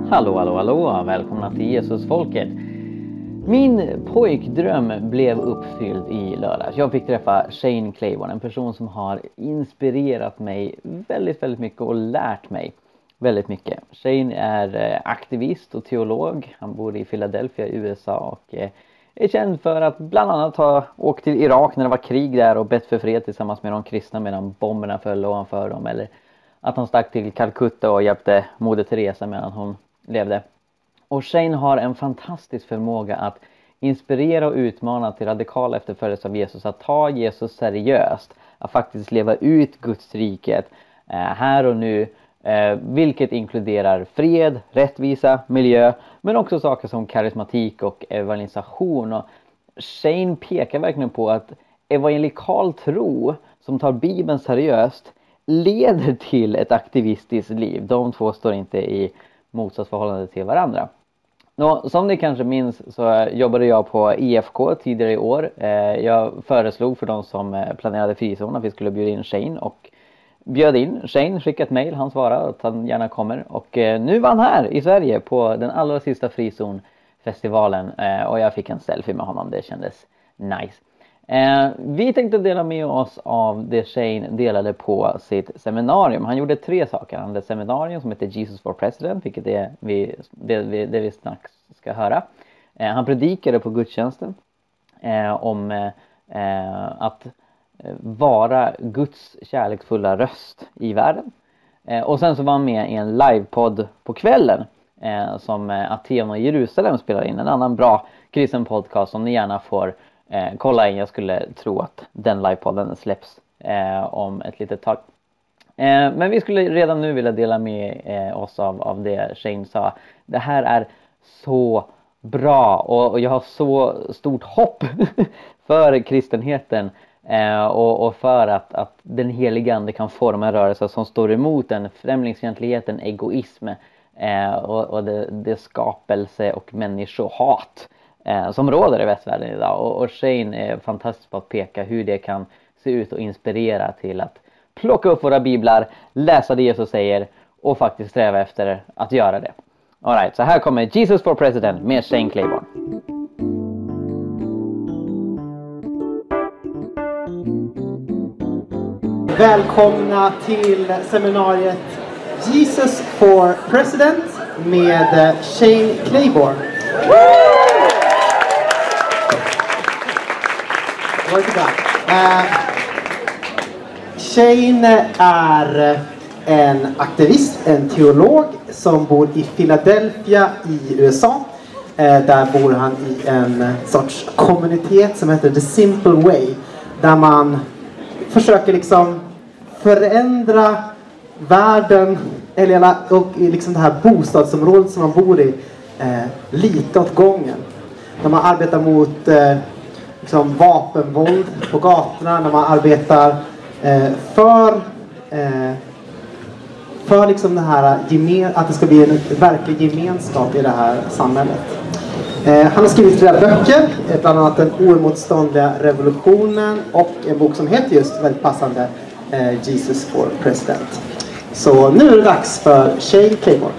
Hallå, hallå, hallå! Välkomna till Jesusfolket! Min pojkdröm blev uppfylld i lördags. Jag fick träffa Shane Claiborne, en person som har inspirerat mig väldigt mycket och lärt mig väldigt mycket. Shane är aktivist och teolog. Han bor i Philadelphia i USA och är känd för att bland annat ha åkt till Irak när det var krig där och bett för fred tillsammans med de kristna medan bomberna föll ovanför dem. Eller att han stack till Calcutta och hjälpte Moder Teresa medan hon levde. Och Shane har en fantastisk förmåga att inspirera och utmana till radikal efterföljelse av Jesus. Att ta Jesus seriöst. Att faktiskt leva ut Guds riket här och nu. Vilket inkluderar fred, rättvisa, miljö. Men också saker som karismatik och evangelisation. Och Shane pekar verkligen på att evangelikal tro som tar Bibeln seriöst leder till ett aktivistiskt liv. De två står inte i motsatsförhållande till varandra. Som ni kanske minns så jobbade jag på IFK tidigare i år. Jag föreslog för de som planerade frizon att vi skulle bjuda in Shane och bjöd in Shane, skickade ett mejl, han svarade att han gärna kommer. Och nu var han här i Sverige på den allra sista frizonfestivalen och jag fick en selfie med honom, det kändes nice. Vi tänkte dela med oss av det Shane delade på sitt seminarium. Han gjorde 3 saker. Han hade ett seminarium som heter Jesus for President, vilket är det vi snart ska höra. Han predikade på gudstjänsten om att vara Guds kärleksfulla röst i världen. Och sen så var han med i en livepodd på kvällen som Aten och Jerusalem spelar in. En annan bra kristen podcast som ni gärna får kolla in. Jag skulle tro att den livepodden släpps om ett litet tag. Men vi skulle redan nu vilja dela med oss av det Shane sa. Det här är så bra och jag har så stort hopp för kristenheten och för att den heliga ande kan forma en rörelse som står emot en främlingsfientligheten, egoism och det skapelse och människohat som råder i västvärlden idag. Och Shane är fantastisk på att peka hur det kan se ut och inspirera till att plocka upp våra biblar, läsa det Jesus säger och faktiskt sträva efter att göra det. All right, så här kommer Jesus for President med Shane Claiborne. Välkomna till seminariet Jesus for President med Shane Claiborne. Shane är en aktivist, en teolog som bor i Philadelphia i USA. Där bor han i en sorts kommunitet som heter The Simple Way. Där man försöker liksom förändra världen och liksom det här bostadsområdet som man bor i lite åt gången. När man arbetar mot liksom vapenvåld på gatorna, när man arbetar för liksom det här att det ska bli en verklig gemenskap i det här samhället. Han har skrivit flera böcker, bland annat Den oemotståndliga revolutionen och en bok som heter just väldigt passande Jesus for President. Så nu är det dags för Shane Claiborne.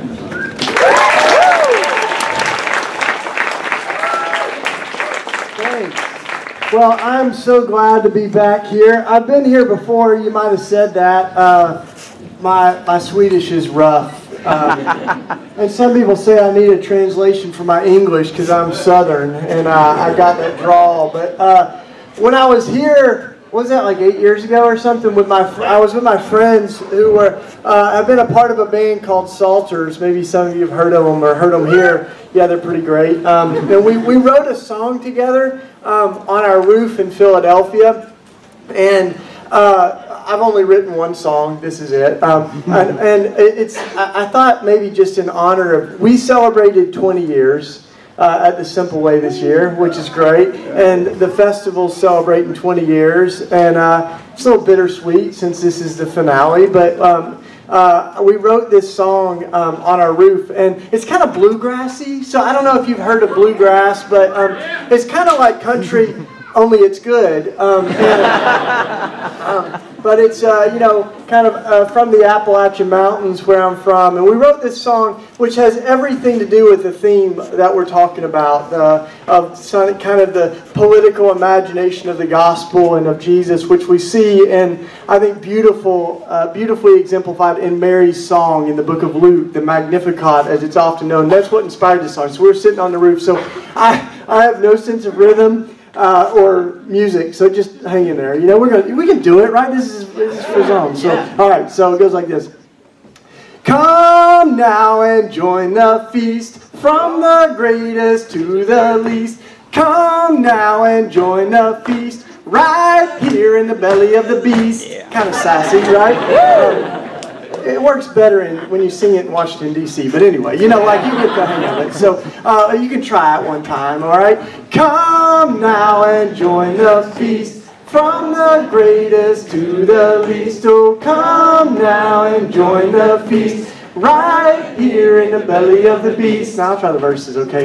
Well, I'm so glad to be back here. I've been here before. You might have said that. My Swedish is rough. And some people say I need a translation for my English because I'm Southern and I got that drawl. But when I was here, was that like 8 years ago or something? I was with my friends who were. I've been a part of a band called Salters. Maybe some of you have heard of them or heard them here. Yeah, they're pretty great. And we wrote a song together on our roof in Philadelphia, and I've only written one song. This is it. And it's. I thought maybe just in honor of. We celebrated 20 years at the Simple Way this year, which is great. And the festival's celebrating 20 years, and it's a little bittersweet since this is the finale. But we wrote this song on our roof, and it's kind of bluegrassy. So I don't know if you've heard of bluegrass, but it's kind of like country. only it's good. But it's, kind of from the Appalachian Mountains where I'm from. And we wrote this song which has everything to do with the theme that we're talking about, of kind of the political imagination of the gospel and of Jesus, which we see in, I think, beautifully exemplified in Mary's song in the book of Luke, the Magnificat, as it's often known. That's what inspired this song. So we were sitting on the roof. So I have no sense of rhythm or music, so just hang in there. We can do it, right? This is for song. So all right, so it goes like this. Come now and join the feast, from the greatest to the least. Come now and join the feast, right here in the belly of the beast. Kind of sassy, right? It works better when you sing it in Washington, D.C. But anyway, you get the hang of it. So you can try it one time, all right? Come now and join the feast, from the greatest to the least. Oh, come now and join the feast, right here in the belly of the beast. Now I'll try the verses, okay?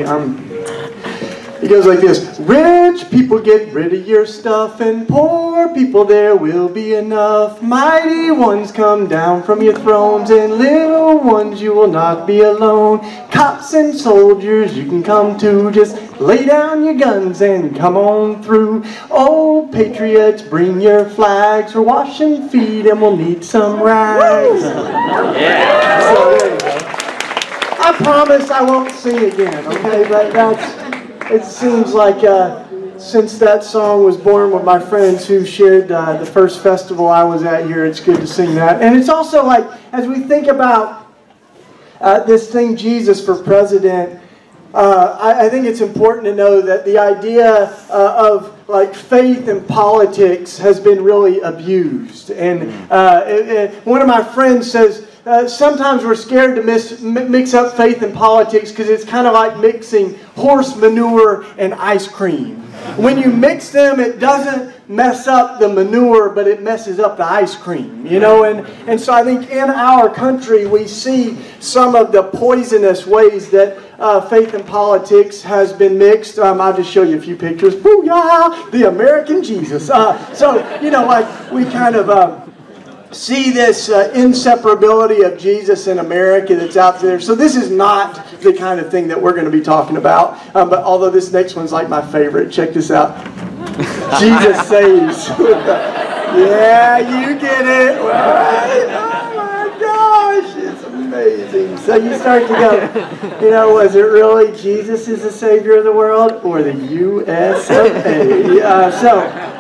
It goes like this. Rich people, get rid of your stuff, and poor people, there will be enough. Mighty ones, come down from your thrones, and little ones, you will not be alone. Cops and soldiers, you can come too. Just lay down your guns and come on through. Oh, patriots, bring your flags. We're washing feet and we'll need some rags. Yeah. So there you go. I promise I won't sing again, okay? But it seems like since that song was born with my friends who shared the first festival I was at here, it's good to sing that. And it's also like, as we think about this thing, Jesus for president, I think it's important to know that the idea of like faith and politics has been really abused. And one of my friends says, sometimes we're scared to mix up faith and politics because it's kind of like mixing horse manure and ice cream. When you mix them, it doesn't mess up the manure, but it messes up the ice cream, And so I think in our country, we see some of the poisonous ways that faith and politics has been mixed. I'll just show you a few pictures. Booyah! The American Jesus. We kind of see this inseparability of Jesus in America that's out there. So this is not the kind of thing that we're going to be talking about. But although this next one's like my favorite. Check this out. Jesus saves. Yeah, you get it. Right? Oh my gosh, it's amazing. So you start to go, was it really Jesus is the Savior of the world or the U.S. of A?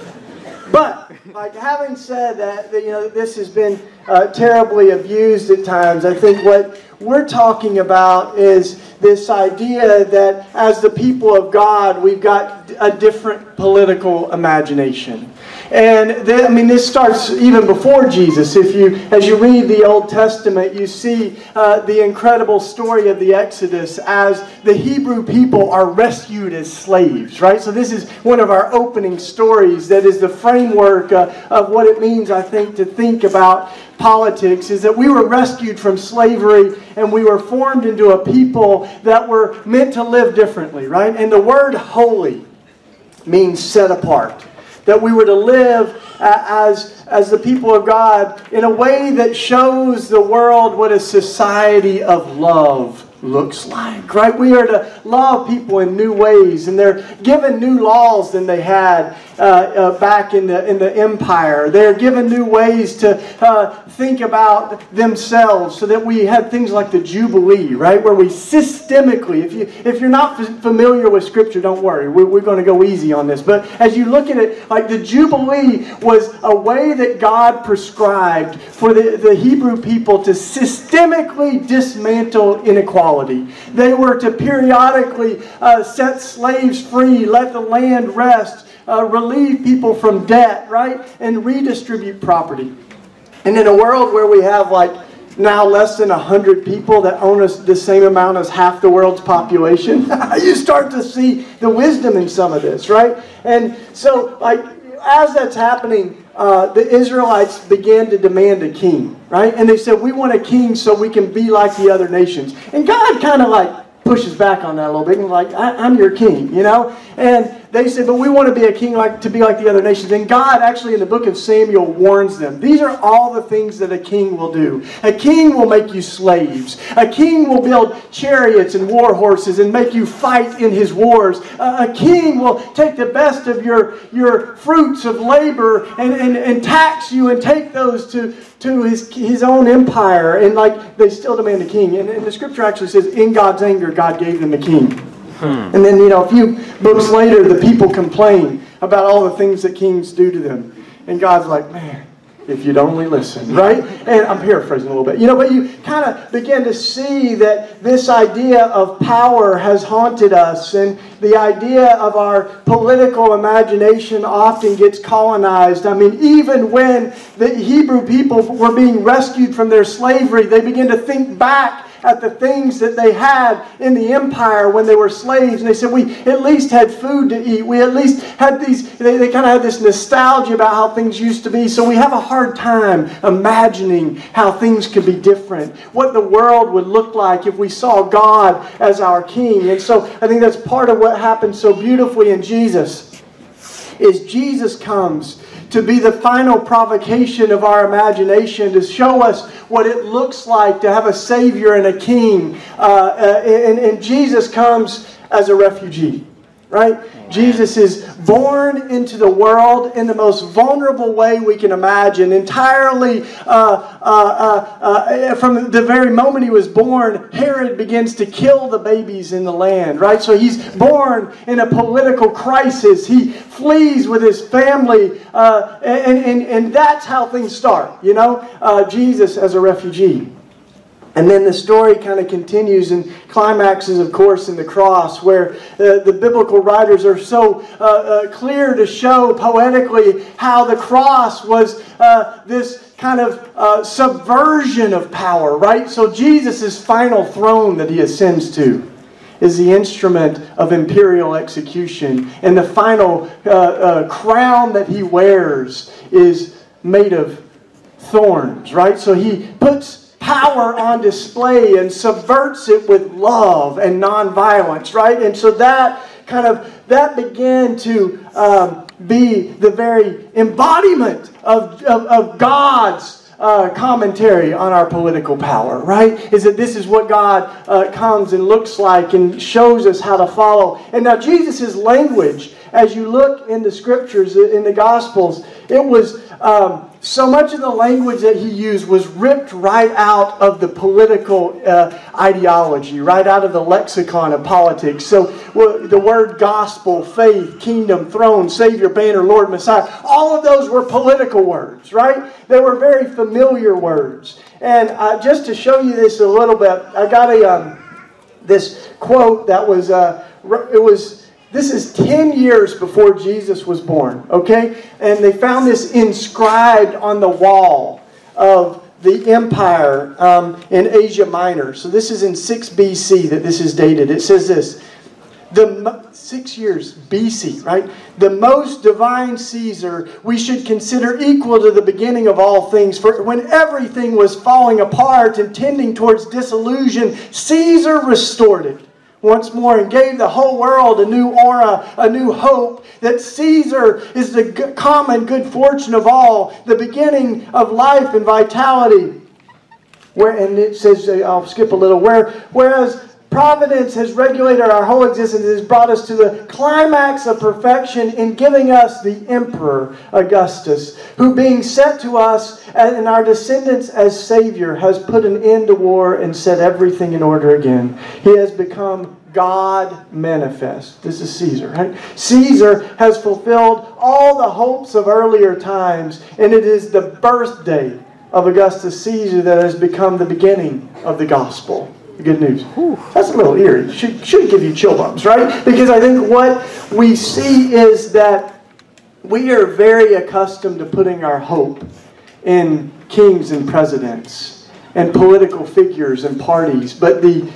But like having said that, this has been terribly abused at times. I think what we're talking about is this idea that as the people of God, we've got a different political imagination. And this starts even before Jesus. As you read the Old Testament, you see the incredible story of the Exodus as the Hebrew people are rescued as slaves, right? So this is one of our opening stories that is the framework of what it means, I think, to think about politics, is that we were rescued from slavery and we were formed into a people that were meant to live differently, right? And the word holy means set apart. That we were to live as the people of God in a way that shows the world what a society of love looks like, right? We are to love people in new ways, and they're given new laws than they had back in the empire. They're given new ways to think about themselves, so that we had things like the Jubilee, right, where we systemically, if you're not familiar with Scripture, don't worry, we're going to go easy on this. But as you look at it, like the Jubilee was a way that God prescribed for the Hebrew people to systemically dismantle inequality. They were to periodically set slaves free, let the land rest, relieve people from debt, right? And redistribute property. And in a world where we have now less than 100 people that own us the same amount as half the world's population, you start to see the wisdom in some of this, right? And so as that's happening, the Israelites began to demand a king, right? And they said, we want a king so we can be like the other nations. And God kind of pushes back on that a little bit and I'm your king, And they said, but we want to be a king to be like the other nations. And God actually in the book of Samuel warns them. These are all the things that a king will do. A king will make you slaves. A king will build chariots and war horses and make you fight in his wars. A king will take the best of your fruits of labor and tax you and take those to his own empire. And like they still demand a king. And the scripture actually says, in God's anger, God gave them a king. And then, a few books later, the people complain about all the things that kings do to them. And God's like, man, if you'd only listen, right? And I'm paraphrasing a little bit. But you kind of begin to see that this idea of power has haunted us. And the idea of our political imagination often gets colonized. I mean, even when the Hebrew people were being rescued from their slavery, they begin to think back at the things that they had in the empire when they were slaves. And they said, we at least had food to eat. We at least had these, they kind of had this nostalgia about how things used to be. So we have a hard time imagining how things could be different. What the world would look like if we saw God as our king. And so I think that's part of what happens so beautifully in Jesus. Is Jesus comes to be the final provocation of our imagination, to show us what it looks like to have a Savior and a King. And Jesus comes as a refugee, right? Amen. Jesus is born into the world in the most vulnerable way we can imagine. Entirely, from the very moment he was born, Herod begins to kill the babies in the land, right? So he's born in a political crisis. He flees with his family, and that's how things start, Jesus as a refugee. And then the story kind of continues and climaxes, of course, in the cross, where the biblical writers are so clear to show poetically how the cross was this kind of subversion of power, right? So Jesus' final throne that he ascends to is the instrument of imperial execution. And the final crown that he wears is made of thorns, right? So he puts power on display and subverts it with love and nonviolence, right? And so that began to be the very embodiment of God's commentary on our political power, right? Is that this is what God comes and looks like and shows us how to follow. And now Jesus' language, as you look in the scriptures, in the Gospels, it was so much of the language that he used was ripped right out of the political ideology, right out of the lexicon of politics. So the word gospel, faith, kingdom, throne, Savior, banner, Lord, Messiah, all of those were political words, right? They were very familiar words. And just to show you this a little bit, I got this quote that was this is 10 years before Jesus was born, okay? And they found this inscribed on the wall of the empire in Asia Minor. So this is in 6 BC that this is dated. It says this, 6 years BC, right? The most divine Caesar we should consider equal to the beginning of all things. For when everything was falling apart and tending towards dissolution, Caesar restored it once more and gave the whole world a new aura, a new hope, that Caesar is the common good fortune of all, the beginning of life and vitality. And it says, I'll skip a little, whereas Providence has regulated our whole existence, has brought us to the climax of perfection in giving us the Emperor Augustus, who being set to us and our descendants as Savior, has put an end to war and set everything in order again. He has become God manifest. This is Caesar, right? Caesar has fulfilled all the hopes of earlier times, and it is the birthday of Augustus Caesar that has become the beginning of the gospel. Good news. That's a little eerie. Should give you chill bumps, right? Because I think what we see is that we are very accustomed to putting our hope in kings and presidents and political figures and parties. But the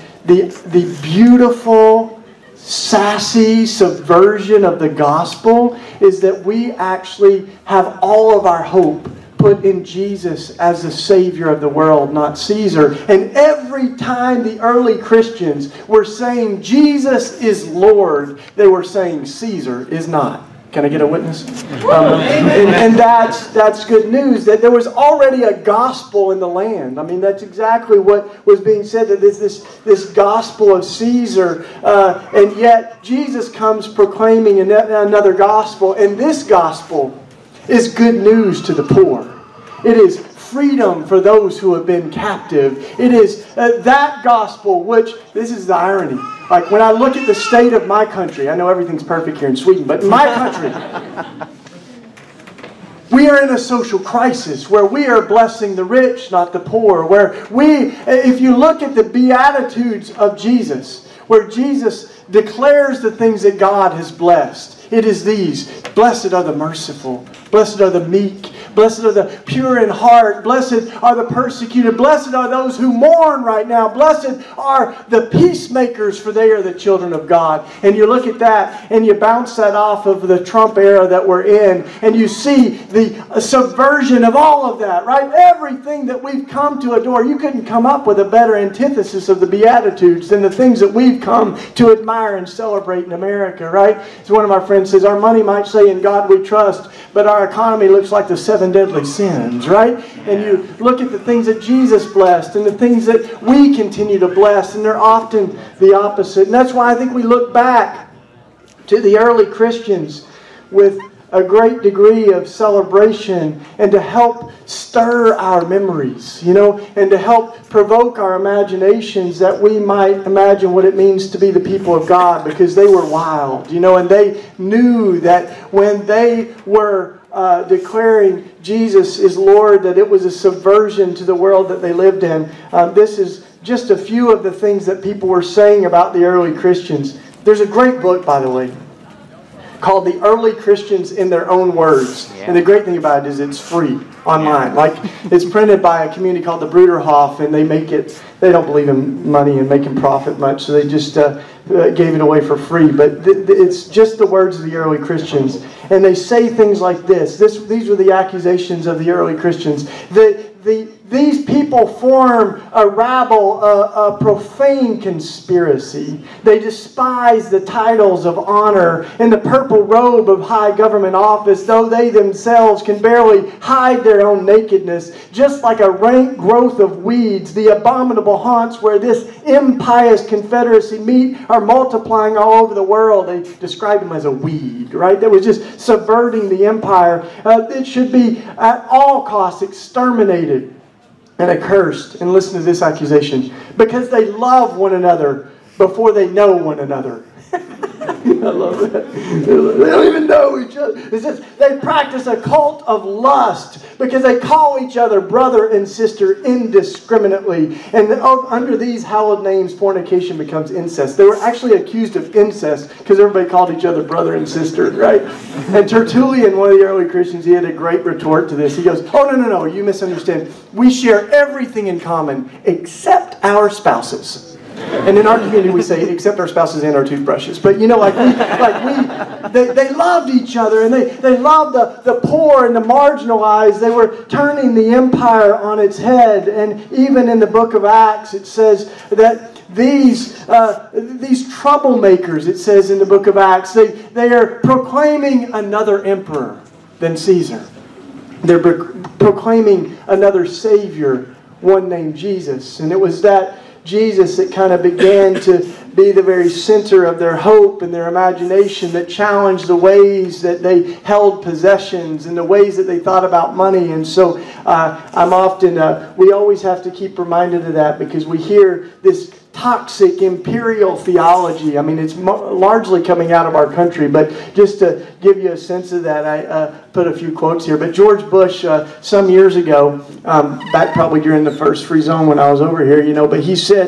beautiful, sassy subversion of the gospel is that we actually have all of our hope put in Jesus as the Savior of the world, not Caesar. And every time the early Christians were saying Jesus is Lord, they were saying Caesar is not. Can I get a witness? And that's good news, that there was already a gospel in the land. I mean, that's exactly what was being said, that there's this gospel of Caesar. And yet Jesus comes proclaiming another gospel. And this gospel is good news to the poor. It is freedom for those who have been captive. It is that gospel which, this is the irony, like when I look at the state of my country, I know everything's perfect here in Sweden, but in my country, we are in a social crisis where we are blessing the rich, not the poor. Where if you look at the Beatitudes of Jesus, where Jesus declares the things that God has blessed, it is these: blessed are the merciful, blessed are the meek, blessed are the pure in heart, blessed are the persecuted, blessed are those who mourn right now, blessed are the peacemakers, for they are the children of God. And you look at that and you bounce that off of the Trump era that we're in, and you see the subversion of all of that, right? Everything that we've come to adore. You couldn't come up with a better antithesis of the Beatitudes than the things that we've come to admire and celebrate in America, right? As one of my friends says, our money might say in God we trust, but our economy looks like the 7 deadly sins, right? And you look at the things that Jesus blessed and the things that we continue to bless, and they're often the opposite. And that's why I think we look back to the early Christians with a great degree of celebration, and to help stir our memories, and to help provoke our imaginations, that we might imagine what it means to be the people of God, because they were wild, and they knew that when they were declaring Jesus is Lord, that it was a subversion to the world that they lived in. This is just a few of the things that people were saying about the early Christians. There's a great book, by the way, called The Early Christians in Their Own Words. Yeah. And the great thing about it is it's free online. Yeah. Like, it's printed by a community called the Bruderhof, and they don't believe in money and making profit much, so they just gave it away for free. But it's just the words of the early Christians. And they say things like this. These were the accusations of the early Christians. These people form a rabble, a profane conspiracy. They despise the titles of honor and the purple robe of high government office, though they themselves can barely hide their own nakedness. Just like a rank growth of weeds, the abominable haunts where this impious confederacy meet are multiplying all over the world. They described them as a weed, right? That was just subverting the empire. It should be at all costs exterminated and accursed. And listen to this accusation: because they love one another before they know one another. I love that. They don't even know each other. It says they practice a cult of lust because they call each other brother and sister indiscriminately. And under these hallowed names, fornication becomes incest. They were actually accused of incest because everybody called each other brother and sister, right? And Tertullian, one of the early Christians, he had a great retort to this. He goes, oh, no, you misunderstand. We share everything in common except our spouses. And in our community we say, except our spouses and our toothbrushes. But they loved each other, and they loved the poor and the marginalized. They were turning the empire on its head. And even in the book of Acts it says that these troublemakers, it says in the book of Acts, they are proclaiming another emperor than Caesar. They're proclaiming another Savior, one named Jesus. And it was that Jesus that kind of began to be the very center of their hope and their imagination, that challenged the ways that they held possessions and the ways that they thought about money. And so we always have to keep reminded of that, because we hear this toxic imperial theology. I mean, it's largely coming out of our country, but just to give you a sense of that, I put a few quotes here. But George Bush, some years ago, back probably during the first free zone when I was over here, but he said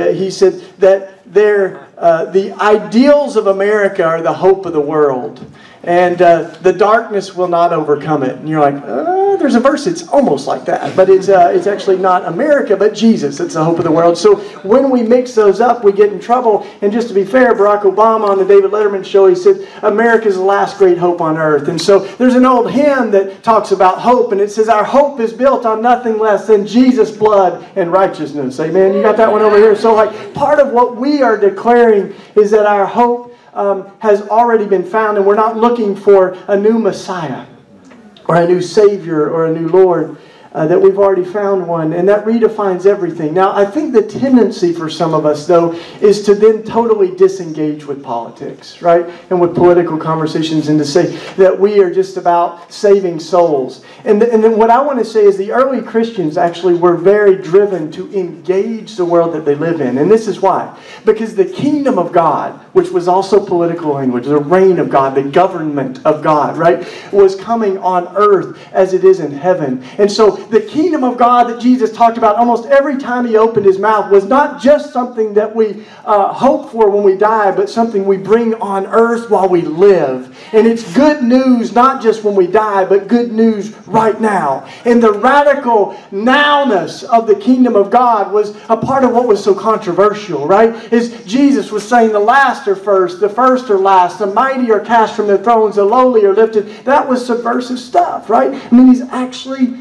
that the ideals of America are the hope of the world, and the darkness will not overcome it. And you're like, there's a verse it's almost like that, but it's actually not America, but Jesus. It's the hope of the world. So when we mix those up, we get in trouble. And just to be fair, Barack Obama on the David Letterman show, he said, America's the last great hope on earth. And so there's an old hymn that talks about hope, and it says, our hope is built on nothing less than Jesus' blood and righteousness. Amen. You got that one over here? So like part of what we are declaring is that our hope has already been found, and we're not looking for a new Messiah or a new Savior or a new Lord, that we've already found one, and that redefines everything. Now, I think the tendency for some of us, though, is to then totally disengage with politics, right? And with political conversations, and to say that we are just about saving souls. And then what I want to say is the early Christians actually were very driven to engage the world that they live in. And this is why. Because the kingdom of God, which was also political language, the reign of God, the government of God, right, was coming on earth as it is in heaven. And so the kingdom of God that Jesus talked about almost every time He opened His mouth was not just something that we hope for when we die, but something we bring on earth while we live. And it's good news not just when we die, but good news right now. And the radical nowness of the kingdom of God was a part of what was so controversial, right? Is Jesus was saying the last are first, the first are last, the mighty are cast from their thrones, the lowly are lifted. That was subversive stuff, right? I mean, He's actually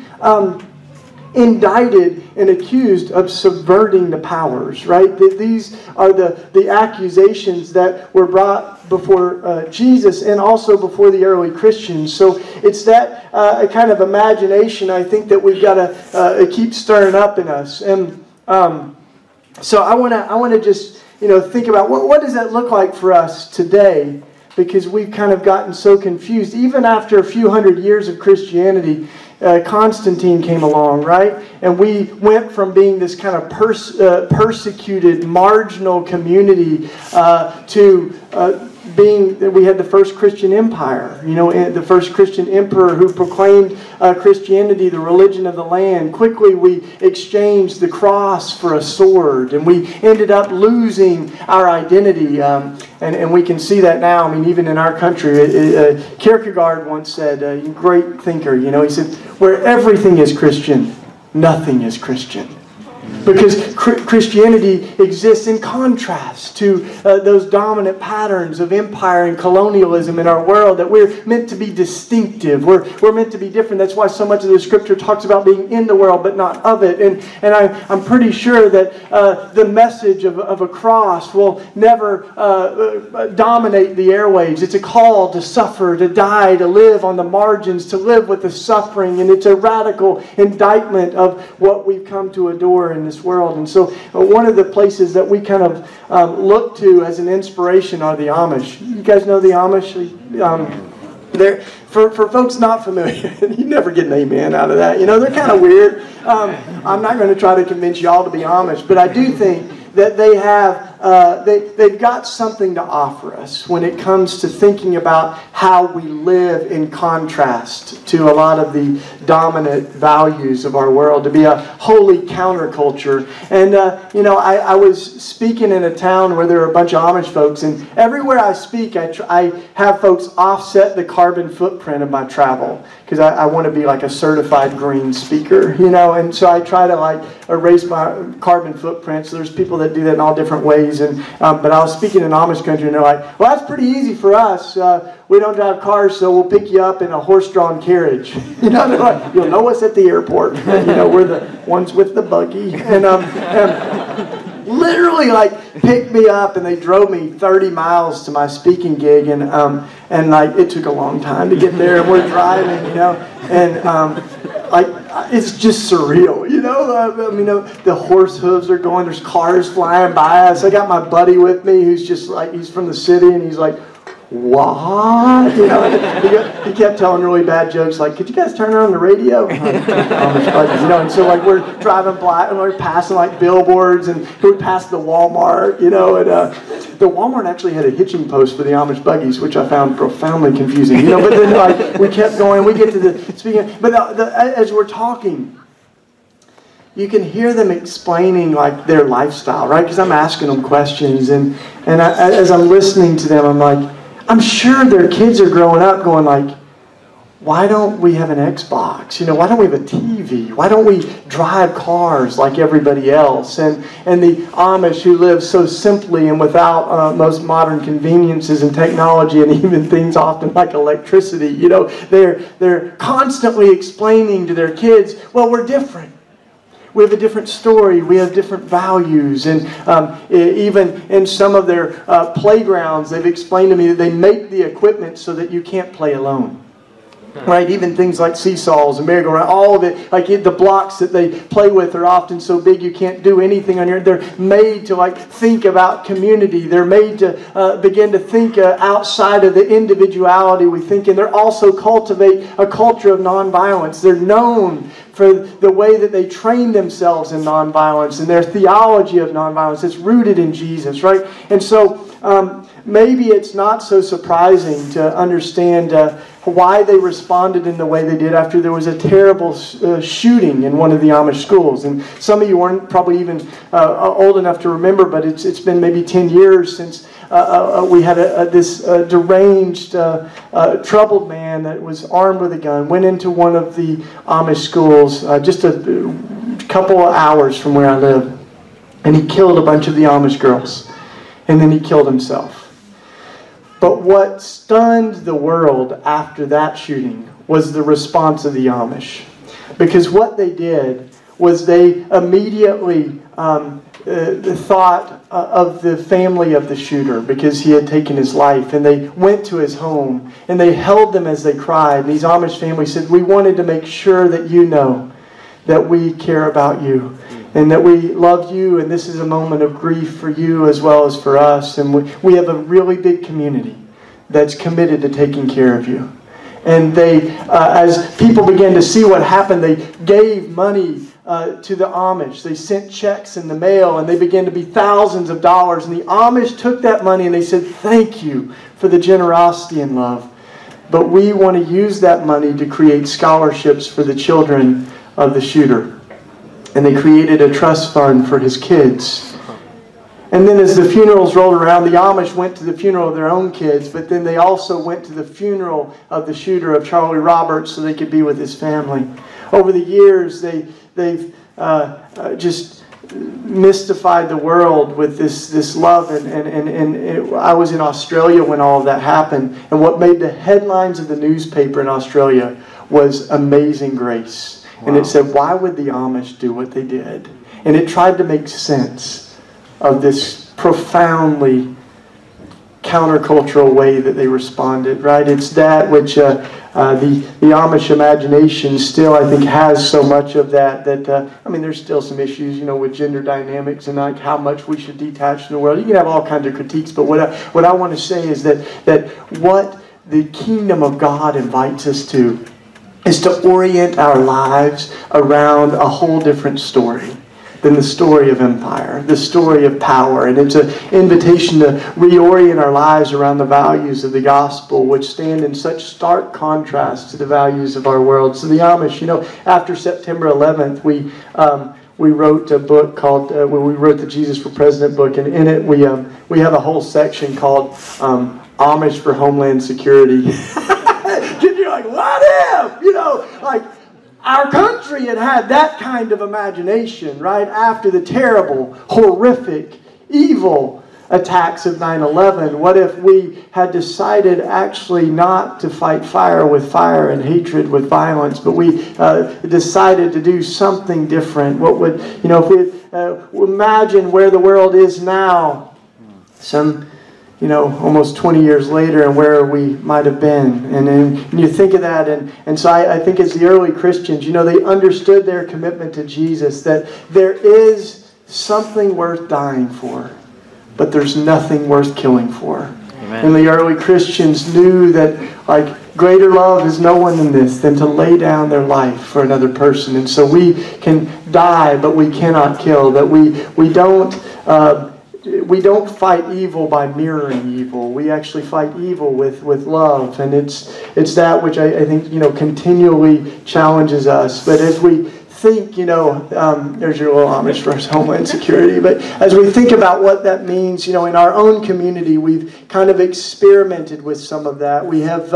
indicted and accused of subverting the powers, right? These are the accusations that were brought before Jesus and also before the early Christians. So it's that kind of imagination, I think, that we've got to keep stirring up in us. And so I want to just think about what does that look like for us today, because we've kind of gotten so confused. Even after a few hundred years of Christianity, Constantine came along, right? And we went from being this kind of persecuted, marginal community to being that we had the first Christian empire, the first Christian emperor who proclaimed Christianity the religion of the land. Quickly we exchanged the cross for a sword, and we ended up losing our identity. And we can see that now. I mean, even in our country, Kierkegaard once said, a great thinker, he said, where everything is Christian, nothing is Christian. Because Christianity exists in contrast to those dominant patterns of empire and colonialism in our world, that we're meant to be distinctive. We're meant to be different. That's why so much of the Scripture talks about being in the world but not of it. And I'm pretty sure that the message of a cross will never dominate the airwaves. It's a call to suffer, to die, to live on the margins, to live with the suffering. And it's a radical indictment of what we've come to adore in this world. And so one of the places that we kind of look to as an inspiration are the Amish. You guys know the Amish? They're, for folks not familiar, you never get an amen out of that. They're kind of weird. I'm not going to try to convince y'all to be Amish, but I do think that they have they've got something to offer us when it comes to thinking about how we live in contrast to a lot of the dominant values of our world, to be a holy counterculture. And I was speaking in a town where there are a bunch of Amish folks, and everywhere I speak, I have folks offset the carbon footprint of my travel, because I want to be like a certified green speaker, and so I try to erase my carbon footprint. So there's people that do that in all different ways. And but I was speaking in Amish country, and they're like, well, that's pretty easy for us. We don't drive cars, so we'll pick you up in a horse-drawn carriage. They're like, you'll know us at the airport. We're the ones with the buggy. And literally picked me up, and they drove me 30 miles to my speaking gig, and it took a long time to get there, and we're driving, and it's just surreal, the horse hooves are going, there's cars flying by us. I got my buddy with me who's just he's from the city, and he's like, what? He kept telling really bad jokes, like, could you guys turn on the radio? And so we're driving by, and we're passing billboards, and we passed the Walmart, and the Walmart actually had a hitching post for the Amish buggies, which I found profoundly confusing, but then we kept going, we get to the speaking, but as we're talking, you can hear them explaining their lifestyle, right? Because I'm asking them questions, and as I'm listening to them, I'm like, I'm sure their kids are growing up going like, why don't we have an Xbox? Why don't we have a TV? Why don't we drive cars like everybody else? And the Amish who live so simply and without most modern conveniences and technology and even things often like electricity, they're constantly explaining to their kids, well, we're different. We have a different story. We have different values. And even in some of their playgrounds, they've explained to me that they make the equipment so that you can't play alone. Right, even things like seesaws and merry-go-round, all of it, like the blocks that they play with are often so big you can't do anything on your own. They're made to think about community. They're made to begin to think outside of the individuality we think, and they're also cultivate a culture of nonviolence. They're known for the way that they train themselves in nonviolence and their theology of nonviolence. It's rooted in Jesus, right? And so maybe it's not so surprising to understand why they responded in the way they did after there was a terrible shooting in one of the Amish schools. And some of you weren't probably even old enough to remember, but it's been maybe 10 years since we had this deranged, troubled man that was armed with a gun, went into one of the Amish schools just a couple of hours from where I live, and he killed a bunch of the Amish girls, and then he killed himself. But what stunned the world after that shooting was the response of the Amish. Because what they did was they immediately thought of the family of the shooter because he had taken his life. And they went to his home and they held them as they cried. And these Amish families said, we wanted to make sure that you know that we care about you. And that we love you, and this is a moment of grief for you as well as for us. And we have a really big community that's committed to taking care of you. And they, as people began to see what happened, they gave money to the Amish. They sent checks in the mail, and they began to be thousands of dollars. And the Amish took that money and they said, thank you for the generosity and love. But we want to use that money to create scholarships for the children of the shooter. And they created a trust fund for his kids. And then as the funerals rolled around, the Amish went to the funeral of their own kids, but then they also went to the funeral of the shooter, of Charlie Roberts, so they could be with his family. Over the years, they've just mystified the world with this love. And I was in Australia when all of that happened. And what made the headlines of the newspaper in Australia was Amazing Grace. Wow. And it said, why would the Amish do what they did? And it tried to make sense of this profoundly countercultural way that they responded, right? It's that which the Amish imagination still, I think, has so much of that there's still some issues, with gender dynamics and like how much we should detach from the world. You can have all kinds of critiques, but what I want to say is that what the kingdom of God invites us to is to orient our lives around a whole different story than the story of empire, the story of power. And it's an invitation to reorient our lives around the values of the gospel, which stand in such stark contrast to the values of our world. So the Amish, after September 11th, we wrote a book called, we wrote the Jesus for President book, and in it we have a whole section called Amish for Homeland Security. You're like, what if? Our country had that kind of imagination, right? After the terrible, horrific, evil attacks of 9/11. What if we had decided actually not to fight fire with fire and hatred with violence, but we decided to do something different? What would, if we imagine where the world is now, almost 20 years later, and where we might have been. And then you think of that, and so I think as the early Christians, they understood their commitment to Jesus, that there is something worth dying for, but there's nothing worth killing for. Amen. And the early Christians knew that, greater love is no one than to lay down their life for another person. And so we can die, but we cannot kill. That we don't fight evil by mirroring evil. We actually fight evil with love. And it's that which I think, continually challenges us. But as we think, there's your little Amish versus Homeland Security, but as we think about what that means, in our own community, we've kind of experimented with some of that. We have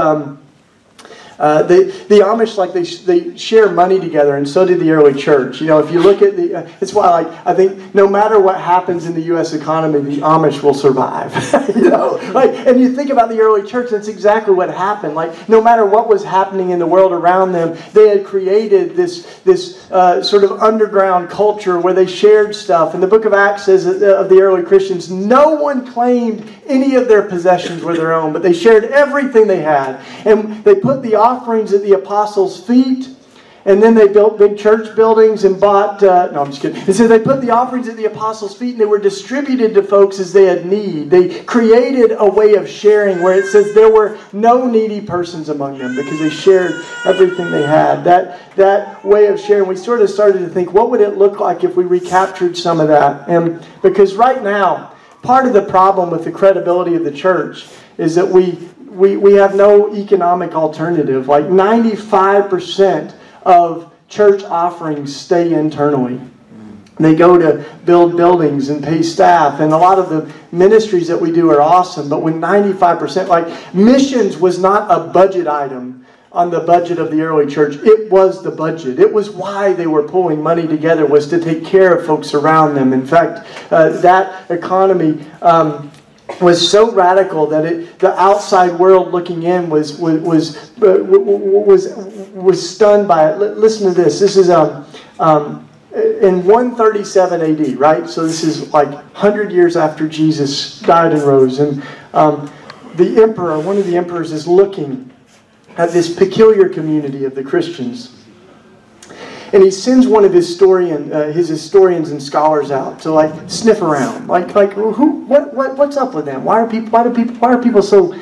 the Amish, they share money together, and so did the early church. If you look at it's why I think no matter what happens in the U.S. economy, the Amish will survive. And you think about the early church, that's exactly what happened. No matter what was happening in the world around them, they had created this sort of underground culture where they shared stuff. And the book of Acts says of the early Christians, no one claimed any of their possessions were their own, but they shared everything they had. And they put the offerings at the apostles' feet, and then they built big church buildings and bought... no, I'm just kidding. It says they put the offerings at the apostles' feet, and they were distributed to folks as they had need. They created a way of sharing where it says there were no needy persons among them because they shared everything they had. That way of sharing, we sort of started to think, what would it look like if we recaptured some of that? And because right now, part of the problem with the credibility of the church is that we have no economic alternative. 95% of church offerings stay internally. They go to build buildings and pay staff, and a lot of the ministries that we do are awesome, but when 95%, missions was not a budget item on the budget of the early church. It was the budget. It was why they were pulling money together, was to take care of folks around them. In fact, that economy was so radical that the outside world looking in was stunned by it. Listen to this. This is in 137 AD, right? So this is 100 years after Jesus died and rose, and the emperor, one of the emperors, is looking at this peculiar community of the Christians. And he sends one of his historians and scholars out to sniff around, what's up with them? Why are people so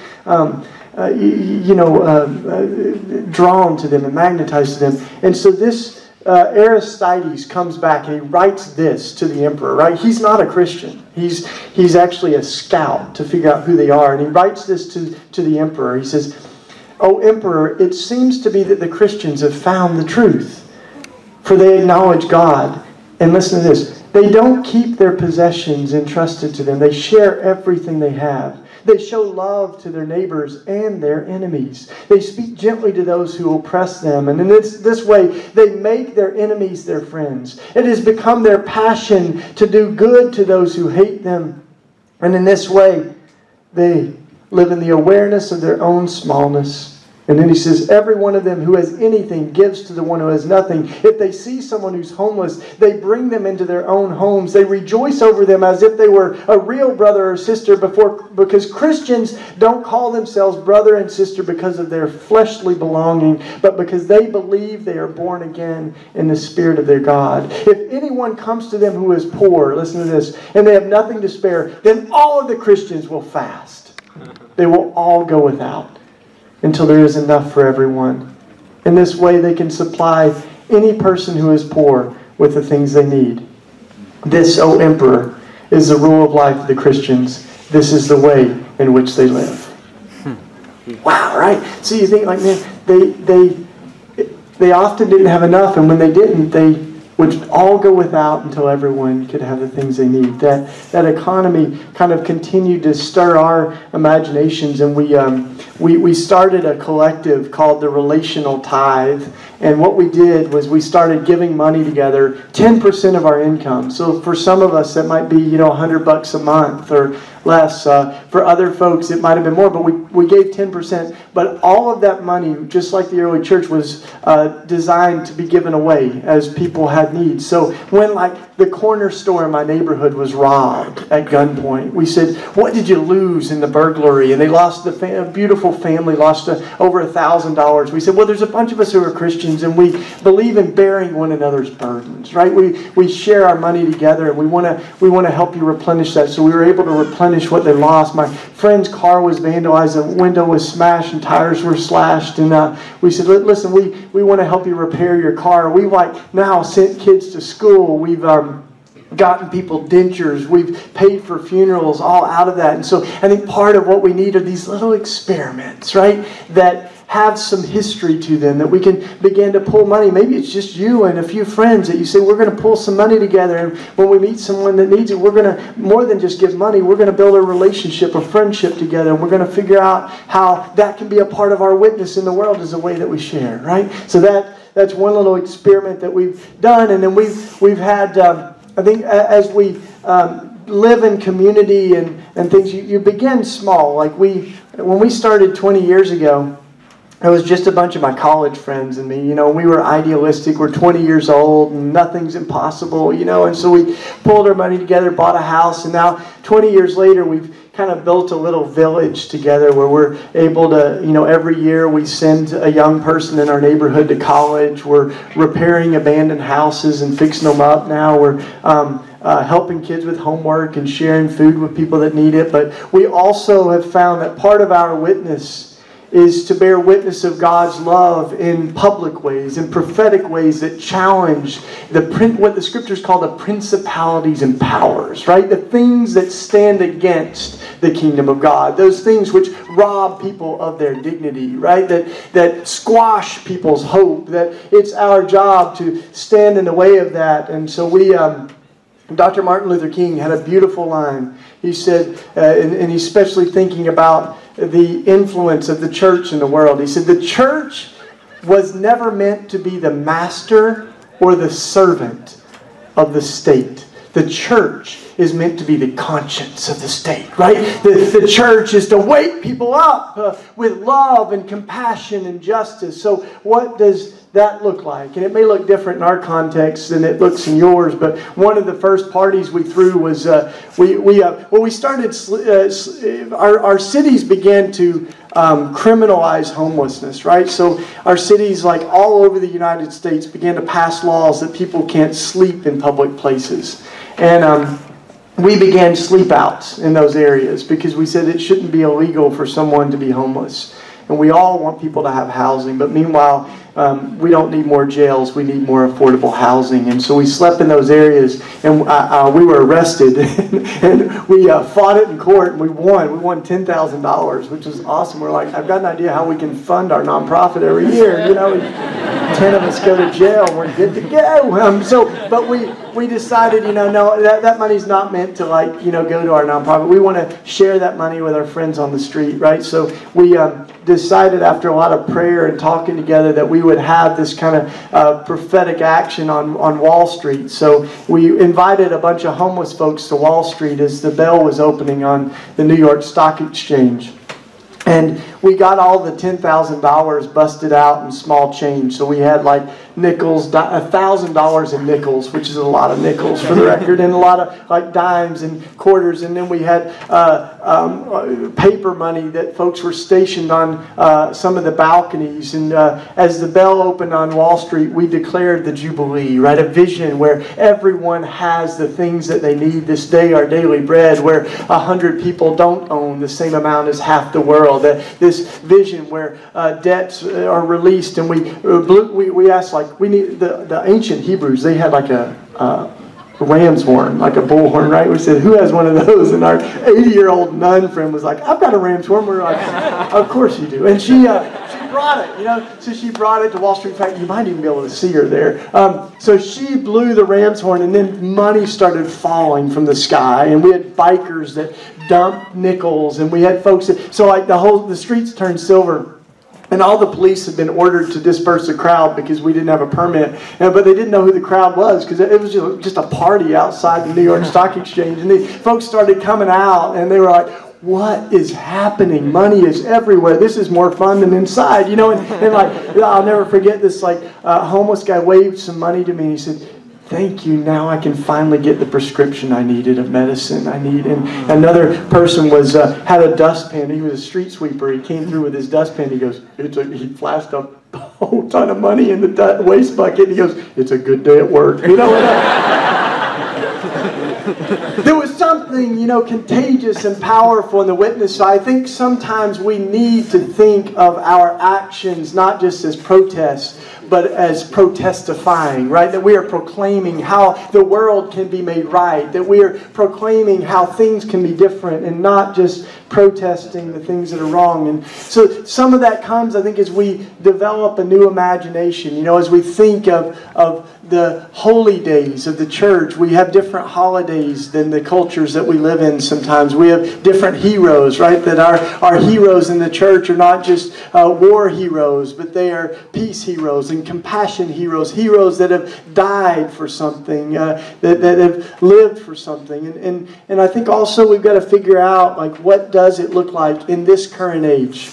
drawn to them and magnetized to them? And so this Aristides comes back and he writes this to the emperor. Right? He's not a Christian. He's actually a scout to figure out who they are, and he writes this to the emperor. He says, "O Emperor, it seems to be that the Christians have found the truth. For they acknowledge God." And listen to this. They don't keep their possessions entrusted to them. They share everything they have. They show love to their neighbors and their enemies. They speak gently to those who oppress them. And in this way, they make their enemies their friends. It has become their passion to do good to those who hate them. And in this way, they live in the awareness of their own smallness. And then he says, every one of them who has anything gives to the one who has nothing. If they see someone who's homeless, they bring them into their own homes. They rejoice over them as if they were a real brother or sister, because Christians don't call themselves brother and sister because of their fleshly belonging, but because they believe they are born again in the Spirit of their God. If anyone comes to them who is poor, listen to this, and they have nothing to spare, then all of the Christians will fast. They will all go without until there is enough for everyone. In this way, they can supply any person who is poor with the things they need. This, O Emperor, is the rule of life of the Christians. This is the way in which they live. Wow, right? So you think, man, they often didn't have enough, and when they didn't, they would all go without until everyone could have the things they need. That economy kind of continued to stir our imaginations, and we started a collective called the Relational Tithe. And what we did was we started giving money together, 10% of our income. So for some of us, that might be $100 a month or less. For other folks, it might have been more, but we gave 10%. But all of that money, just like the early church, was designed to be given away as people had needs. So when the corner store in my neighborhood was robbed at gunpoint, we said, what did you lose in the burglary? And they lost, a beautiful family lost over $1,000. We said, well, there's a bunch of us who are Christians, and we believe in bearing one another's burdens, right? We share our money together, and we want to help you replenish that. So we were able to replenish what they lost. My friend's car was vandalized, a window was smashed, and tires were slashed. And we said, listen, we want to help you repair your car. We've now sent kids to school. We've gotten people dentures. We've paid for funerals, all out of that. And so I think part of what we need are these little experiments, right? That have some history to them, that we can begin to pull money. Maybe it's just you and a few friends that you say, we're going to pull some money together, and when we meet someone that needs it, we're going to, more than just give money, we're going to build a relationship, a friendship together, and we're going to figure out how that can be a part of our witness in the world as a way that we share, right? So that's one little experiment that we've done, and then we've had, I think as we live in community and things, you begin small. Like when we started 20 years ago, it was just a bunch of my college friends and me. You know, we were idealistic. We're 20 years old and nothing's impossible, you know. And so we pulled our money together, bought a house, and now 20 years later, we've kind of built a little village together where we're able to, you know, every year we send a young person in our neighborhood to college. We're repairing abandoned houses and fixing them up now. We're helping kids with homework and sharing food with people that need it. But we also have found that part of our witness is to bear witness of God's love in public ways, in prophetic ways that challenge what the Scriptures call the principalities and powers, right? The things that stand against the kingdom of God. Those things which rob people of their dignity, right? That squash people's hope. That it's our job to stand in the way of that. And so Dr. Martin Luther King had a beautiful line. He said, and he's especially thinking about the influence of the church in the world. He said, the church was never meant to be the master or the servant of the state. The church is meant to be the conscience of the state, right? The church is to wake people up with love and compassion and justice. So what does that look like? And it may look different in our context than it looks in yours, but one of the first parties we threw was we started, our cities began to criminalize homelessness, right? So our cities, like all over the United States, began to pass laws that people can't sleep in public places. And we began sleep outs in those areas because we said it shouldn't be illegal for someone to be homeless. And we all want people to have housing, but meanwhile, we don't need more jails. We need more affordable housing. And so we slept in those areas, and we were arrested. And we fought it in court, and we won. We won $10,000, which was awesome. We're like, I've got an idea how we can fund our nonprofit every year. You know, 10 of us go to jail, and we're good to go. But we decided, you know, no, that money's not meant to, like, you know, go to our nonprofit. We want to share that money with our friends on the street, right? So we decided after a lot of prayer and talking together that we would have this kind of prophetic action on Wall Street. So we invited a bunch of homeless folks to Wall Street as the bell was opening on the New York Stock Exchange. And we got all the $10,000 busted out in small change. So we had like nickels, $1,000 in nickels, which is a lot of nickels for the record, and a lot of like dimes and quarters. And then we had paper money that folks were stationed on some of the balconies. And as the bell opened on Wall Street, we declared the Jubilee, right? A vision where everyone has the things that they need this day, our daily bread, where 100 people don't own the same amount as half the world. This vision where debts are released, and we asked, like, we need the ancient Hebrews. They had like a ram's horn, like a bullhorn, right? We said, who has one of those? And our 80-year-old nun friend was like, I've got a ram's horn. We're like, of course you do. And she brought it, you know. So she brought it to Wall Street. In fact, you might even be able to see her there. So she blew the ram's horn, and then money started falling from the sky. And we had bikers that dumped nickels, and we had folks that, so like the streets turned silver. And all the police had been ordered to disperse the crowd because we didn't have a permit. But they didn't know who the crowd was because it was just a party outside the New York Stock Exchange. And the folks started coming out, and they were like, what is happening? Money is everywhere. This is more fun than inside, you know. And like, I'll never forget this. Like, homeless guy waved some money to me, and he said, thank you, now I can finally get the prescription I needed of medicine I need. And another person had a dustpan. He was a street sweeper. He came through with his dustpan. He goes, he flashed a whole ton of money in the waste bucket. He goes, it's a good day at work. You know, there was something, you know, contagious and powerful in the witness. So I think sometimes we need to think of our actions not just as protests, but as protestifying, right? That we are proclaiming how the world can be made right, that we are proclaiming how things can be different and not just protesting the things that are wrong. And so some of that comes, I think, as we develop a new imagination. You know, as we think of the holy days of the church, we have different holidays than the cultures that we live in sometimes. We have different heroes, right? That our heroes in the church are not just war heroes, but they are peace heroes and compassion heroes, heroes that have died for something, that have lived for something. And I think also we've got to figure out, like, what does it look like in this current age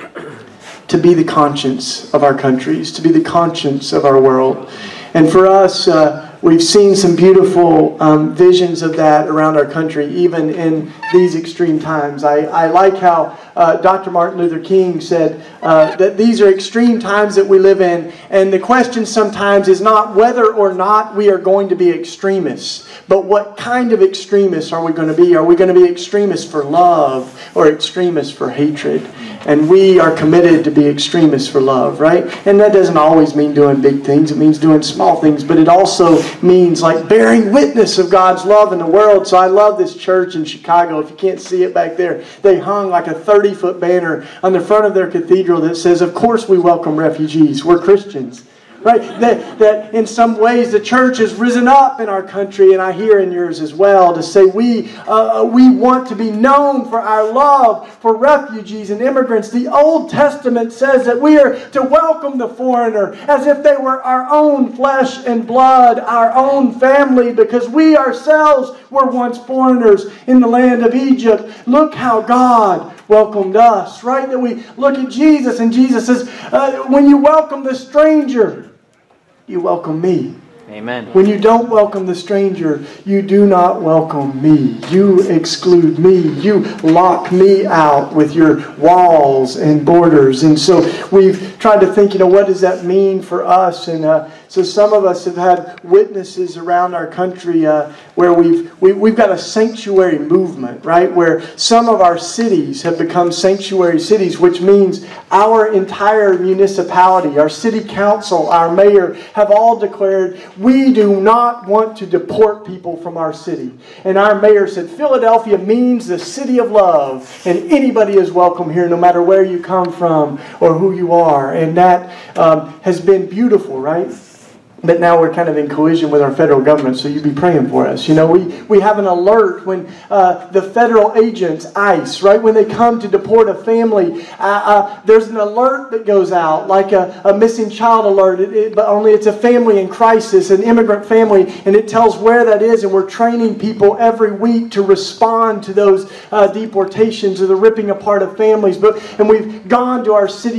to be the conscience of our countries, to be the conscience of our world. And for us, we've seen some beautiful visions of that around our country, even in these extreme times. I like how Dr. Martin Luther King said that these are extreme times that we live in, and the question sometimes is not whether or not we are going to be extremists, but what kind of extremists are we going to be? Are we going to be extremists for love or extremists for hatred? And we are committed to be extremists for love, right? And that doesn't always mean doing big things. It means doing small things. But it also means like bearing witness of God's love in the world. So I love this church in Chicago. If you can't see it back there, they hung like a 30-foot banner on the front of their cathedral that says, "Of course we welcome refugees. We're Christians." Right? That in some ways the church has risen up in our country, and I hear in yours as well, to say we want to be known for our love for refugees and immigrants. The Old Testament says that we are to welcome the foreigner as if they were our own flesh and blood, our own family, because we ourselves were once foreigners in the land of Egypt. Look how God welcomed us, right? That we look at Jesus, and Jesus says, when you welcome the stranger, you welcome me. Amen. When you don't welcome the stranger, you do not welcome me. You exclude me. You lock me out with your walls and borders. And so we've tried to think, what does that mean for us? And so some of us have had witnesses around our country where we've got a sanctuary movement, right? Where some of our cities have become sanctuary cities, which means our entire municipality, our city council, our mayor have all declared, we do not want to deport people from our city. And our mayor said, Philadelphia means the city of love, and anybody is welcome here no matter where you come from or who you are. And that has been beautiful, right? But now we're kind of in collision with our federal government, so you be praying for us. We have an alert when the federal agents, ICE, right, when they come to deport a family, there's an alert that goes out, like a missing child alert, but only it's a family in crisis, an immigrant family, and it tells where that is, and we're training people every week to respond to those deportations or the ripping apart of families. And we've gone to our city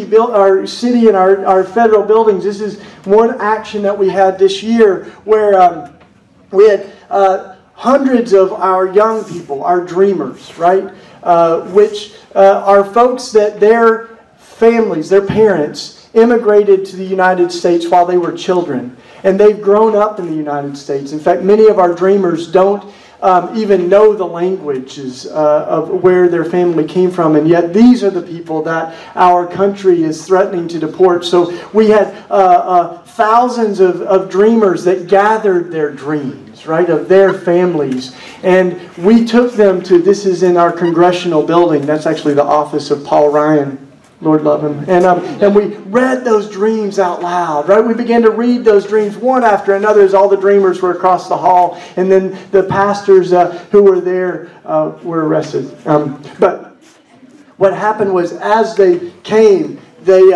and our federal buildings. This is one action that we had this year where we had hundreds of our young people, our dreamers, right? Which are folks that their families, their parents, immigrated to the United States while they were children. And they've grown up in the United States. In fact, many of our dreamers don't even know the languages of where their family came from, and yet these are the people that our country is threatening to deport. So we had thousands of dreamers that gathered their dreams, right, of their families, and we took them to, this is in our congressional building, that's actually the office of Paul Ryan, Lord love him. And we read those dreams out loud, right? We began to read those dreams one after another as all the dreamers were across the hall. And then the pastors who were there were arrested. But what happened was as they came, they're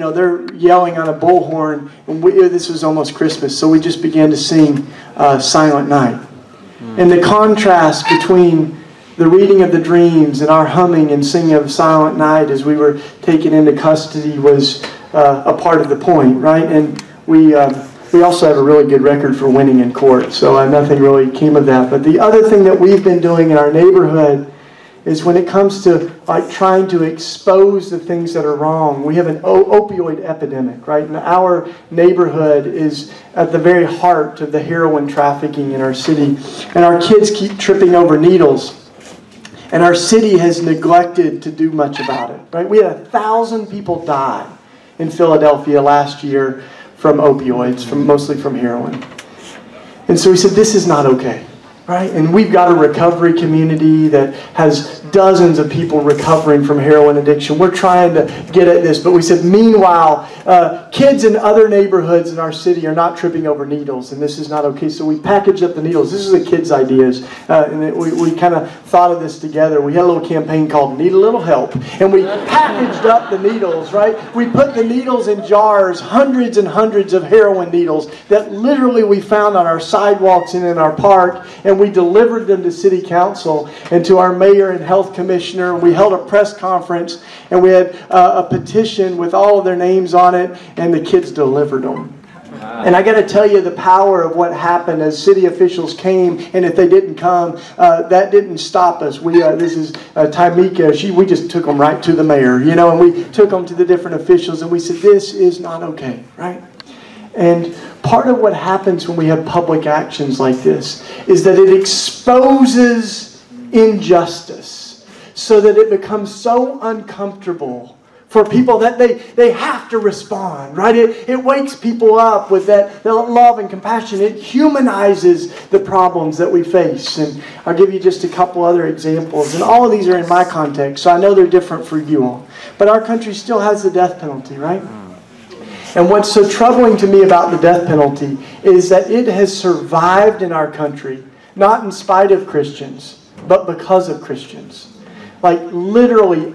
yelling on a bullhorn. And this was almost Christmas, so we just began to sing Silent Night. And the contrast between the reading of the dreams and our humming and singing of Silent Night as we were taken into custody was a part of the point, right? And we also have a really good record for winning in court, so nothing really came of that. But the other thing that we've been doing in our neighborhood is when it comes to trying to expose the things that are wrong. We have an opioid epidemic, right? And our neighborhood is at the very heart of the heroin trafficking in our city. And our kids keep tripping over needles. And our city has neglected to do much about it, right? We had 1,000 people die in Philadelphia last year from opioids, mostly from heroin. And so we said, this is not okay. Right? And we've got a recovery community that has dozens of people recovering from heroin addiction. We're trying to get at this, but we said, meanwhile, kids in other neighborhoods in our city are not tripping over needles, and this is not okay. So we packaged up the needles. This is the kids' ideas, and we kind of thought of this together. We had a little campaign called Need a Little Help, and we packaged up the needles, right? We put the needles in jars, hundreds and hundreds of heroin needles that literally we found on our sidewalks and in our park, and we delivered them to City Council and to our mayor and health commissioner. We held a press conference, and we had a petition with all of their names on it, and the kids delivered them. And I got to tell you the power of what happened as city officials came, and if they didn't come, that didn't stop us. This is Tamika. We just took them right to the mayor, and we took them to the different officials, and we said, this is not okay, right? And part of what happens when we have public actions like this is that it exposes injustice so that it becomes so uncomfortable for people that they have to respond, right? It wakes people up with that love and compassion. It humanizes the problems that we face. And I'll give you just a couple other examples. And all of these are in my context, so I know they're different for you all. But our country still has the death penalty, right? And what's so troubling to me about the death penalty is that it has survived in our country, not in spite of Christians, but because of Christians. Like literally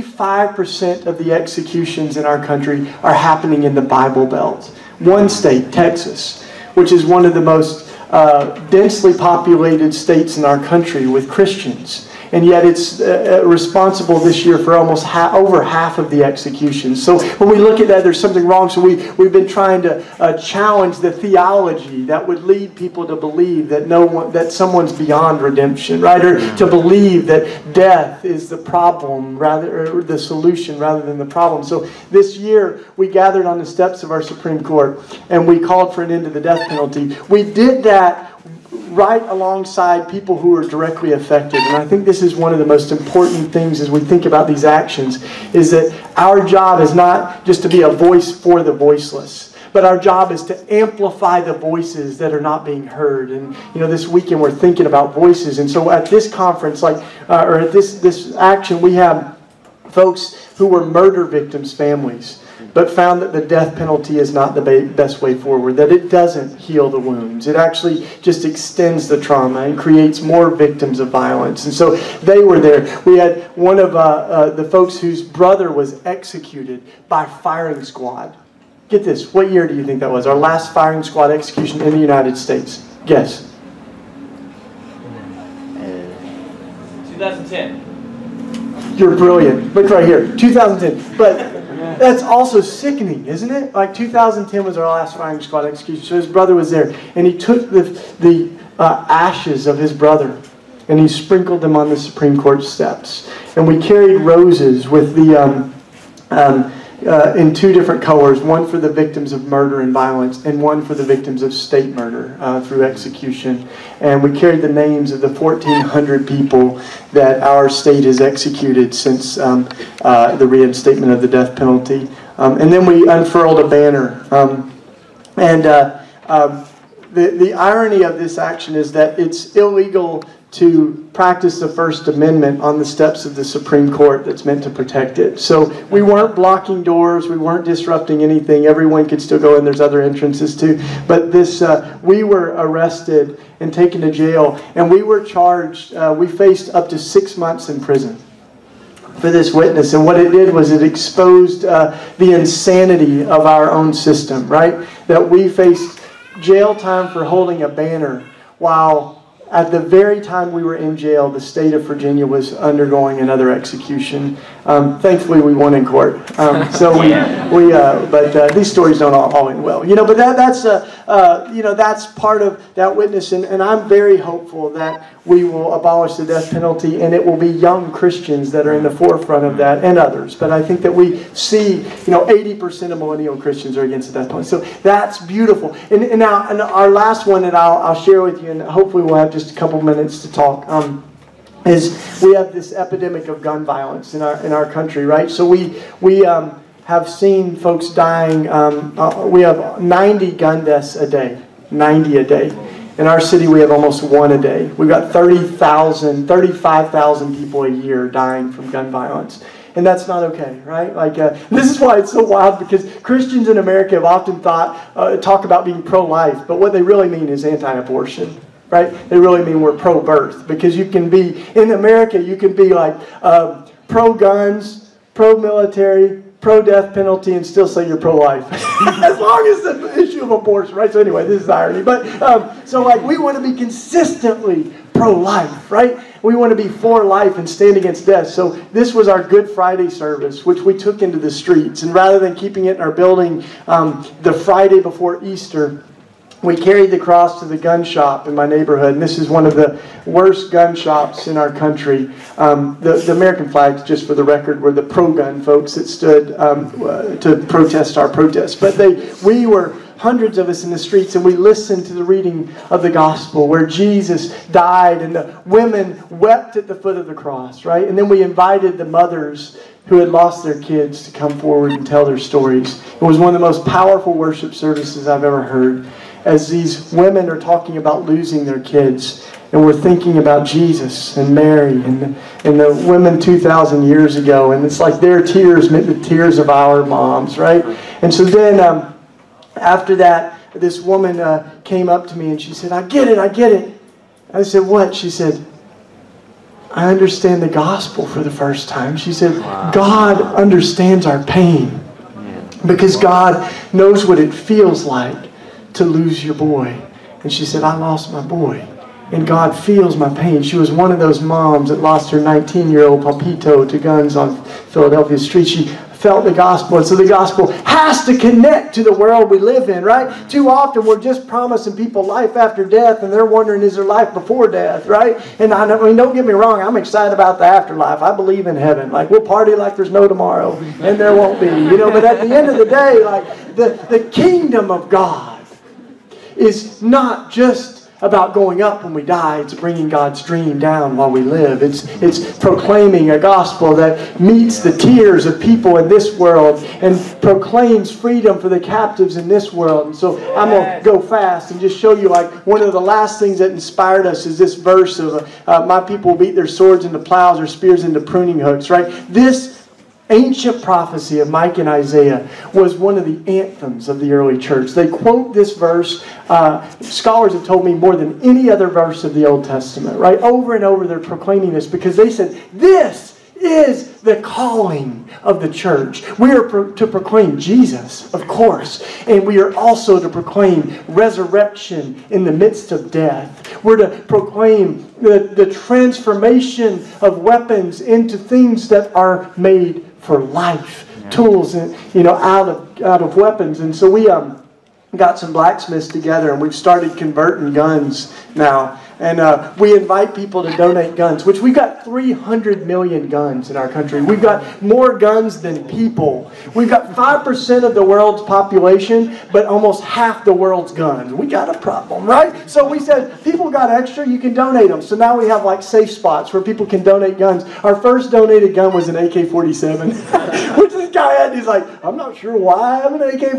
85% of the executions in our country are happening in the Bible Belt. One state, Texas, which is one of the most densely populated states in our country with Christians. And yet it's responsible this year for almost over half of the executions. So when we look at that, there's something wrong. So we've been trying to challenge the theology that would lead people to believe that someone's beyond redemption, right? Or to believe that death is the problem, or the solution rather than the problem. So this year we gathered on the steps of our Supreme Court and we called for an end to the death penalty. We did that right alongside people who are directly affected. And I think this is one of the most important things as we think about these actions, is that our job is not just to be a voice for the voiceless, but our job is to amplify the voices that are not being heard. And this weekend we're thinking about voices. And so at this conference, or at this action, we have folks who were murder victims' families, but found that the death penalty is not the best way forward, that it doesn't heal the wounds. It actually just extends the trauma and creates more victims of violence. And so they were there. We had one of the folks whose brother was executed by firing squad. Get this, what year do you think that was? Our last firing squad execution in the United States. Guess. 2010. You're brilliant. Look right here, 2010. But that's also sickening, isn't it? Like 2010 was our last firing squad execution. So his brother was there, and he took the ashes of his brother, and he sprinkled them on the Supreme Court steps. And we carried roses with the in two different colors, one for the victims of murder and violence, and one for the victims of state murder through execution. And we carried the names of the 1,400 people that our state has executed since the reinstatement of the death penalty. And then we unfurled a banner. The irony of this action is that it's illegal to practice the First Amendment on the steps of the Supreme Court that's meant to protect it. So we weren't blocking doors, we weren't disrupting anything. Everyone could still go in, there's other entrances too. But we were arrested and taken to jail, and we were charged, we faced up to 6 months in prison for this witness. And what it did was it exposed the insanity of our own system, right? That we faced jail time for holding a banner while at the very time we were in jail, the state of Virginia was undergoing another execution. Thankfully, we won in court. But these stories don't all end well. But that's part of that witness, and I'm very hopeful that we will abolish the death penalty, and it will be young Christians that are in the forefront of that, and others. But I think that we see, 80% of millennial Christians are against the death penalty. So that's beautiful. And now, our last one that I'll share with you, and hopefully we'll have just a couple minutes to talk, is we have this epidemic of gun violence in our country, right? So we have seen folks dying. We have 90 gun deaths a day. 90 a day. In our city, we have almost one a day. We've got 35,000 people a year dying from gun violence. And that's not okay, right? This is why it's so wild, because Christians in America have often talk about being pro-life, but what they really mean is anti-abortion, right? They really mean we're pro-birth, because you can be, in America, you can be pro-guns, pro-military, pro-death penalty, and still say you're pro-life. As long as the issue of abortion, right? So anyway, this is irony. But, we want to be consistently pro-life, right? We want to be for life and stand against death. So this was our Good Friday service, which we took into the streets. And rather than keeping it in our building the Friday before Easter, we carried the cross to the gun shop in my neighborhood. And this is one of the worst gun shops in our country. The American flags, just for the record, were the pro-gun folks that stood to protest our protest. But we were hundreds of us in the streets, and we listened to the reading of the gospel where Jesus died and the women wept at the foot of the cross, right? And then we invited the mothers who had lost their kids to come forward and tell their stories. It was one of the most powerful worship services I've ever heard, as these women are talking about losing their kids. And we're thinking about Jesus and Mary and the women 2,000 years ago. And it's like their tears meant the tears of our moms, right? And so then after that, this woman came up to me and she said, I get it. I said, what? She said, I understand the gospel for the first time. She said, God understands our pain, because God knows what it feels like to lose your boy. And she said, I lost my boy, and God feels my pain. She was one of those moms that lost her 19-year-old Papito to guns on Philadelphia street. She felt the gospel, and so the gospel has to connect to the world we live in, right? Too often we're just promising people life after death, and they're wondering, is there life before death, right? And I mean, don't get me wrong, I'm excited about the afterlife. I believe in heaven. We'll party like there's no tomorrow, and there won't be, But at the end of the day, the kingdom of God is not just about going up when we die. It's bringing God's dream down while we live. It's proclaiming a gospel that meets the tears of people in this world and proclaims freedom for the captives in this world. And so I'm going to go fast and just show you one of the last things that inspired us is this verse of my people will beat their swords into plows, or spears into pruning hooks, right? This ancient prophecy of Micah and Isaiah was one of the anthems of the early church. They quote this verse. Scholars have told me more than any other verse of the Old Testament, right? Over and over they're proclaiming this, because they said, this is the calling of the church. We are to proclaim Jesus, of course, and we are also to proclaim resurrection in the midst of death. We're to proclaim the transformation of weapons into things that are made for life, tools, out of weapons. And so we got some blacksmiths together, and we've started converting guns now. And we invite people to donate guns, which we've got 300 million guns in our country. We've got more guns than people. We've got 5% of the world's population, but almost half the world's guns. We got a problem, right? So we said, people got extra, you can donate them. So now we have safe spots where people can donate guns. Our first donated gun was an AK-47, which this guy had. He's like, I'm not sure why I have an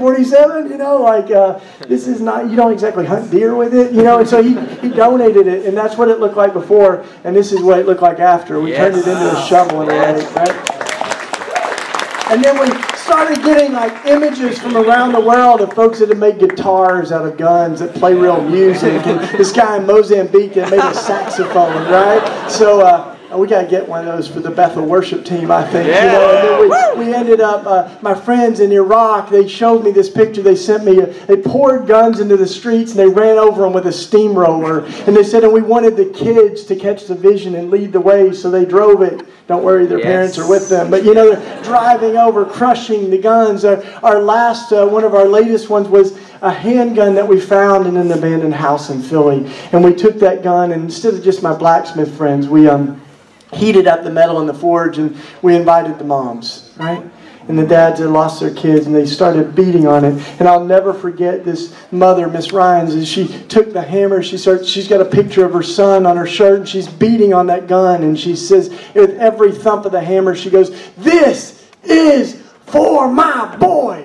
AK-47, this is not, you don't exactly hunt deer with it, and so he donated it, and that's what it looked like before, and this is what it looked like after. We turned it into a shovel and everything, right? And then we started getting images from around the world of folks that have made guitars out of guns that play real music, and this guy in Mozambique that made a saxophone, right? So we got to get one of those for the Bethel worship team, I think. And then we ended up, my friends in Iraq, they showed me this picture they sent me. They poured guns into the streets and they ran over them with a steamroller. And they said, and we wanted the kids to catch the vision and lead the way, so they drove it. Don't worry, their parents are with them. But, they're driving over, crushing the guns. Our last, one of our latest ones was a handgun that we found in an abandoned house in Philly. And we took that gun, and instead of just my blacksmith friends, we heated up the metal in the forge, and we invited the moms, right? And the dads had lost their kids, and they started beating on it. And I'll never forget this mother, Miss Ryans, as she took the hammer. She's got a picture of her son on her shirt, and she's beating on that gun. And she says, with every thump of the hammer, she goes, "This is For my boy!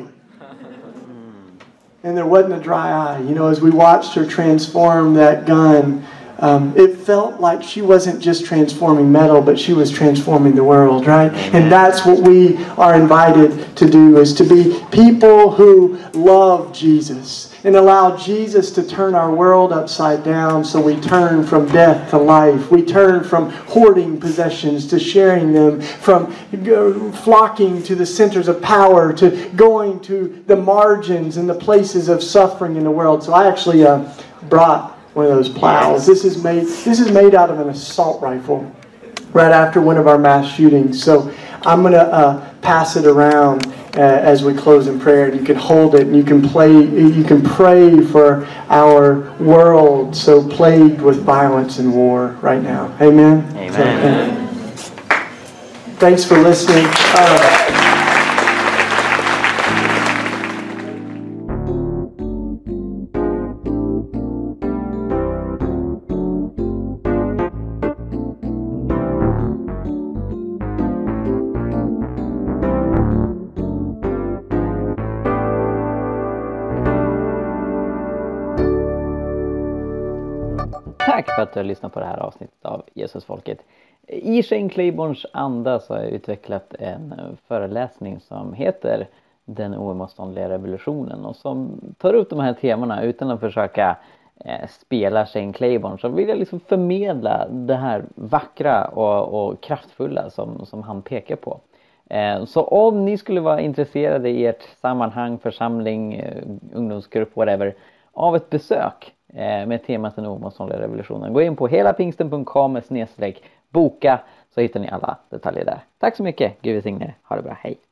And there wasn't a dry eye. You know, as we watched her transform that gun, it felt like she wasn't just transforming metal, but she was transforming the world, right? And that's what we are invited to do, is to be people who love Jesus and allow Jesus to turn our world upside down, so we turn from death to life. We turn from hoarding possessions to sharing them, from flocking to the centers of power to going to the margins and the places of suffering in the world. So I actually brought one of those plows. This is made out of an assault rifle right after one of our mass shootings. So I'm going to pass it around as we close in prayer. And you can hold it and you can pray for our world so plagued with violence and war right now. Amen? Amen. So, thanks for listening. Tack för att du har lyssnat på det här avsnittet av Jesusfolket. I Shane Claibornes anda så har jag utvecklat en föreläsning som heter Den oemotståndliga revolutionen, och som tar upp de här temana utan att försöka spela Shane Claiborne. Så vill jag liksom förmedla det här vackra och kraftfulla som han pekar på. Så om ni skulle vara intresserade i ert sammanhang, församling, ungdomsgrupp, whatever, av ett besök med temat Den oemotståndliga revolutionen, gå in på helapingsten.com/boka, så hittar ni alla detaljer där. Tack så mycket, Gud välsigne er. Ha det bra, hej!